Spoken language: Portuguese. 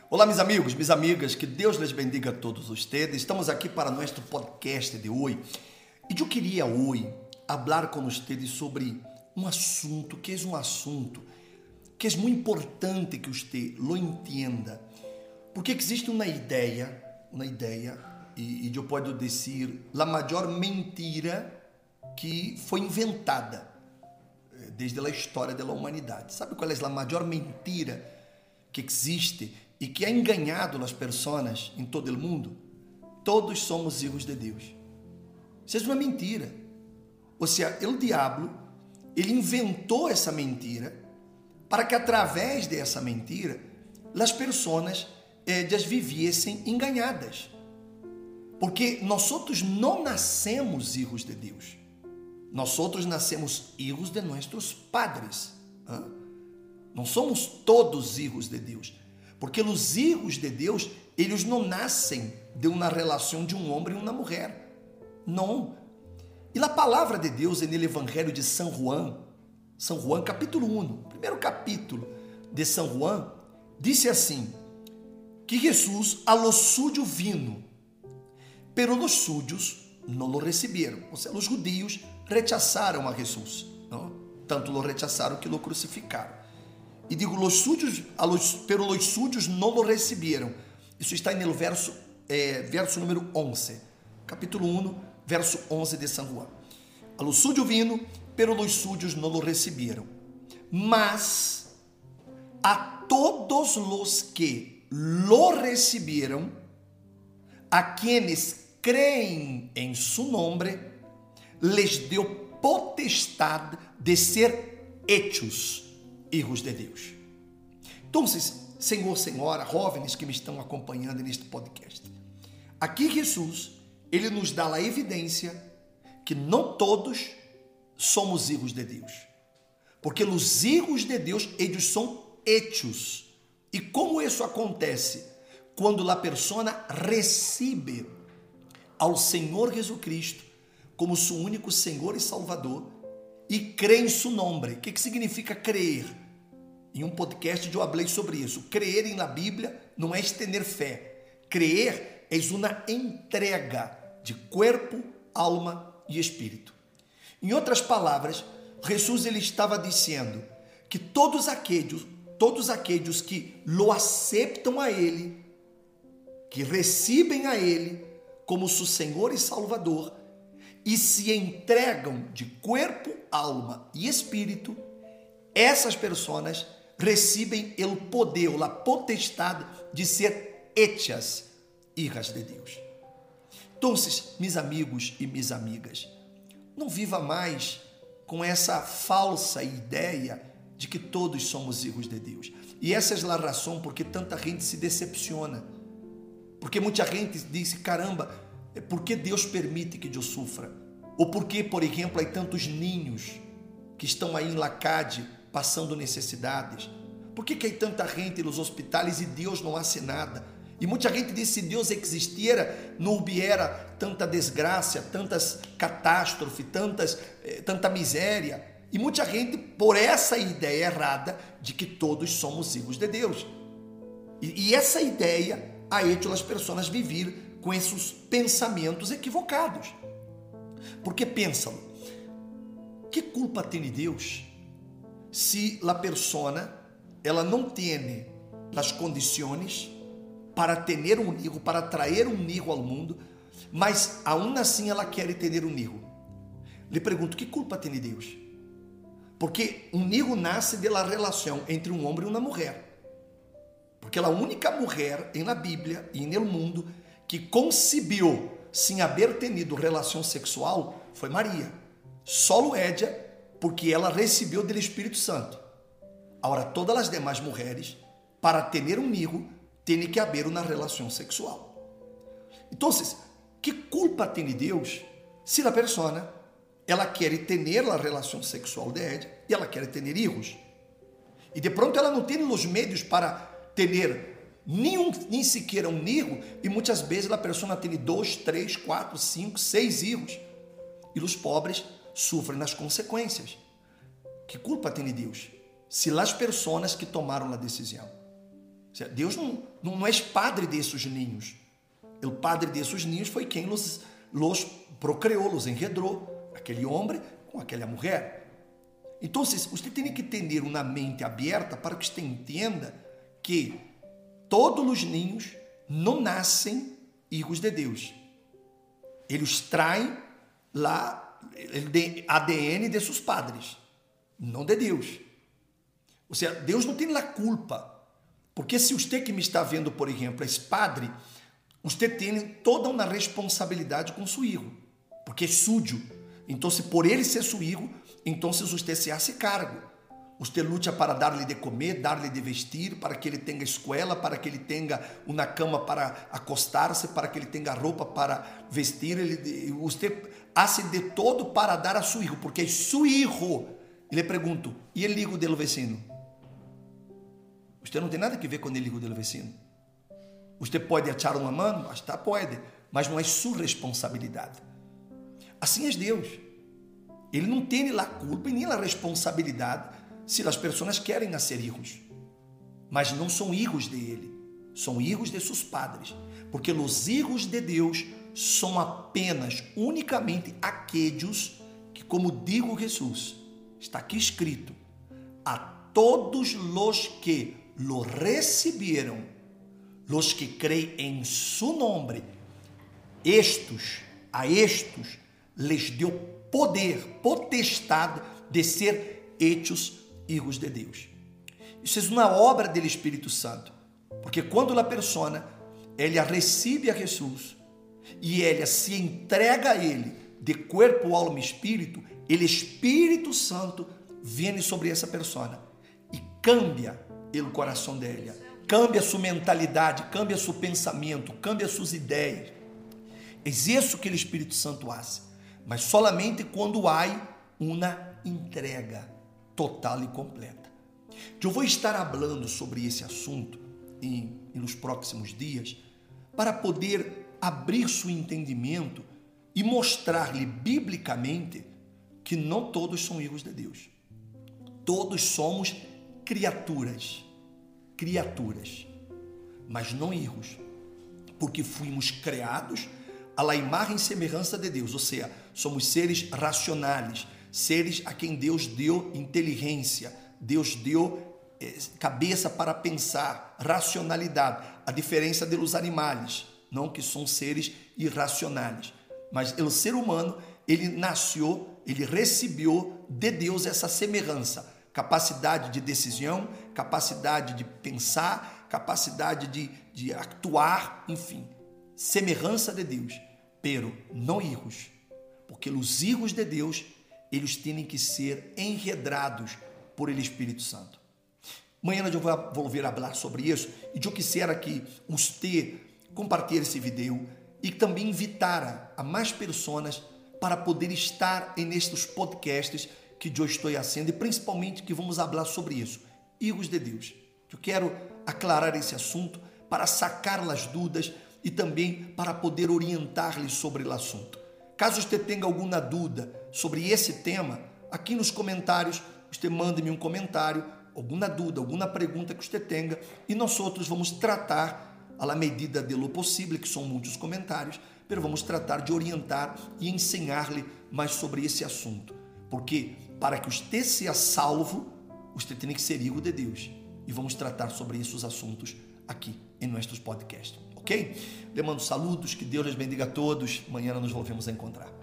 Olá, meus amigos, minhas amigas, que Deus les bendiga a todos vocês. Estamos aqui para nosso podcast de hoje. E eu queria hoje falar com vocês sobre um assunto que é muito importante que você lo entenda. Porque existe uma ideia, e eu posso dizer, a maior mentira que foi inventada desde a história da humanidade. Sabe qual é a maior mentira que existe e que ha enganado as pessoas em todo o mundo? Todos somos filhos de Deus. Isso é uma mentira. Ou seja, o diabo, ele inventou essa mentira para que através dessa mentira as pessoas ellas vivessem enganadas. Porque nós não nascemos filhos de Deus. Nós nascemos filhos de nossos padres. Não somos todos filhos de Deus. Porque os filhos de Deus, eles não nascem de uma relação de um homem e uma mulher. Não. E a palavra de Deus no Evangelho de São Juan capítulo 1, primeiro capítulo de São Juan, disse assim, que Jesus a los suyos vino, pero los suyos não lo receberam. Ou seja, os judeus rechazaram a Jesus, não? Tanto lo rechazaram que lo crucificaram. E digo, pero los suyos não lo receberam. Isso está no verso número 11, capítulo 1, verso 11 de São Juan. A los suyos vino, pero los suyos não lo receberam. Mas a todos los que lo receberam, a quienes creem em su nombre, les deu potestade de ser hechos hijos de Deus. Então, Senhor, Senhora, jovens que me estão acompanhando neste podcast, aqui Jesus, ele nos dá a evidência que não todos somos hijos de Deus. Porque os hijos de Deus, eles são hechos. E como isso acontece? Quando a pessoa recebe ao Senhor Jesus Cristo como seu único Senhor e Salvador e crê em seu nome. O que significa crer? Em um podcast eu falei sobre isso. Crer em la Bíblia não é ter fé. Crer é uma entrega de corpo, alma e espírito. Em outras palavras, Jesus ele estava dizendo que todos aqueles que lo aceitam a Ele, que recebem a Ele como seu Senhor e Salvador e se entregam de corpo, alma e espírito, essas pessoas recebem o poder, a potestade de ser hechas hijas de Deus. Então, meus amigos e minhas amigas, não viva mais com essa falsa ideia de que todos somos hijos de Deus. E essa é a razão porque tanta gente se decepciona. Porque muita gente diz, caramba, por que Deus permite que eu sofra? Ou por que, por exemplo, há tantos ninhos que estão aí em lacade passando necessidades? Por que há tanta gente nos hospitais e Deus não hace nada? E muita gente diz, se Deus existiera, não hubiera tanta desgraça, tantas catástrofes, tanta miséria. E muita gente, por essa ideia errada de que todos somos hijos de Deus. E essa ideia ha hecho as pessoas viver com esses pensamentos equivocados. Porque pensam, que culpa tem Deus se a pessoa ela não tem as condições para ter um hijo, para trazer um hijo ao mundo, mas aún assim ela quer ter um hijo? Lhe pergunto, que culpa tem Deus? Porque um hijo nasce da relação entre um homem e uma mulher. Porque a única mulher na Bíblia e no mundo que concebeu sem haver tenido relação sexual foi Maria. Solo ella, porque ela recebeu do Espírito Santo. Agora, todas as demais mulheres, para ter um hijo, tem que haver uma relação sexual. Então, que culpa tem Deus se a pessoa ela quer ter a relação sexual de ella e ela quer ter hijos? E de pronto ela não tem os meios para ter nem sequer um hijo, e muitas vezes a pessoa tem 2, 3, 4, 5, 6 hijos. E os pobres sofrem as consequências. Que culpa tem Deus se as pessoas que tomaram a decisão? Deus não é padre desses ninhos. O padre desses ninhos foi quem los procreou, los engendrou, aquele homem com aquela mulher. Então, você tem que ter uma mente aberta para que você entenda que todos os ninhos não nascem filhos de Deus. Eles traem lá o ADN de seus padres, não de Deus. Ou seja, Deus não tem a culpa. Porque se você que me está vendo, por exemplo, é padre, você tem toda uma responsabilidade com seu filho, porque é sujo. Então, se por ele ser seu filho, então você se hace cargo. Você luta para dar-lhe de comer, dar-lhe de vestir, para que ele tenha escola, para que ele tenha uma cama para acostar-se, para que ele tenha roupa para vestir. Você hace de todo para dar a seu filho, porque é seu filho. E lhe pergunto, e o filho do vecino? Você não tem nada a ver com o filho do vecino. Você pode echar uma mão? Hasta pode, mas não é sua responsabilidade. Assim é Deus. Ele não tem a culpa e nem a responsabilidade se as pessoas querem nascer filhos. Mas não são filhos de Ele, são filhos de seus padres. Porque os filhos de Deus são apenas, unicamente, aqueles que, como digo Jesus, está aqui escrito, a todos os que lo receberam, los que creem em su nome, a estes les deu poder, potestade de ser hechos hijos de Deus. Isso é uma obra do Espírito Santo, porque quando a pessoa ela recebe a Jesus e ela se entrega a Ele de corpo, alma e espírito, o Espírito Santo vem sobre essa pessoa e cambia o coração dela, cambia sua mentalidade, cambia seu pensamento, cambia suas ideias. É isso que o Espírito Santo faz, mas solamente quando há uma entrega total e completa. Eu vou estar falando sobre esse assunto nos próximos dias para poder abrir seu entendimento e mostrar-lhe biblicamente que não todos são filhos de Deus. Todos somos criaturas, mas não filhos, porque fomos criados à imagem e semelhança de Deus, ou seja, somos seres racionais, seres a quem Deus deu inteligência, Deus deu cabeça para pensar, racionalidade, a diferença dos animais, não que são seres irracionais, mas o ser humano, ele nasceu, ele recebeu de Deus essa semelhança, capacidade de decisão, capacidade de pensar, capacidade de actuar, enfim, semelhança de Deus, pero não filhos, porque os filhos de Deus, eles têm que ser enredados por ele Espírito Santo. Amanhã eu vou voltar a falar sobre isso e eu quisiera que você compartilhe esse vídeo e também invitar a mais pessoas para poder estar nestes podcasts que eu estou fazendo e principalmente que vamos falar sobre isso, filhos de Deus. Eu quero aclarar esse assunto para sacar as dúvidas e também para poder orientar-lhes sobre o assunto. Caso você tenha alguma dúvida sobre esse tema, aqui nos comentários, você mande-me um comentário, alguma dúvida, alguma pergunta que você tenha e nós outros vamos tratar à medida de lo possível, que são muitos comentários, mas vamos tratar de orientar e ensinar-lhe mais sobre esse assunto. Porque para que você seja salvo, você tem que ser filho de Deus. E vamos tratar sobre esses assuntos aqui em nossos podcasts, ok? Le mando saludos, que Deus les bendiga a todos. Amanhã nos volvemos a encontrar.